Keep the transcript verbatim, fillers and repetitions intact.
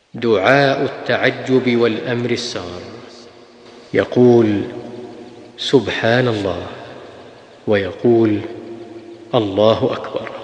دعاء التعجب والأمر السار. يقول سبحان الله، ويقول الله أكبر.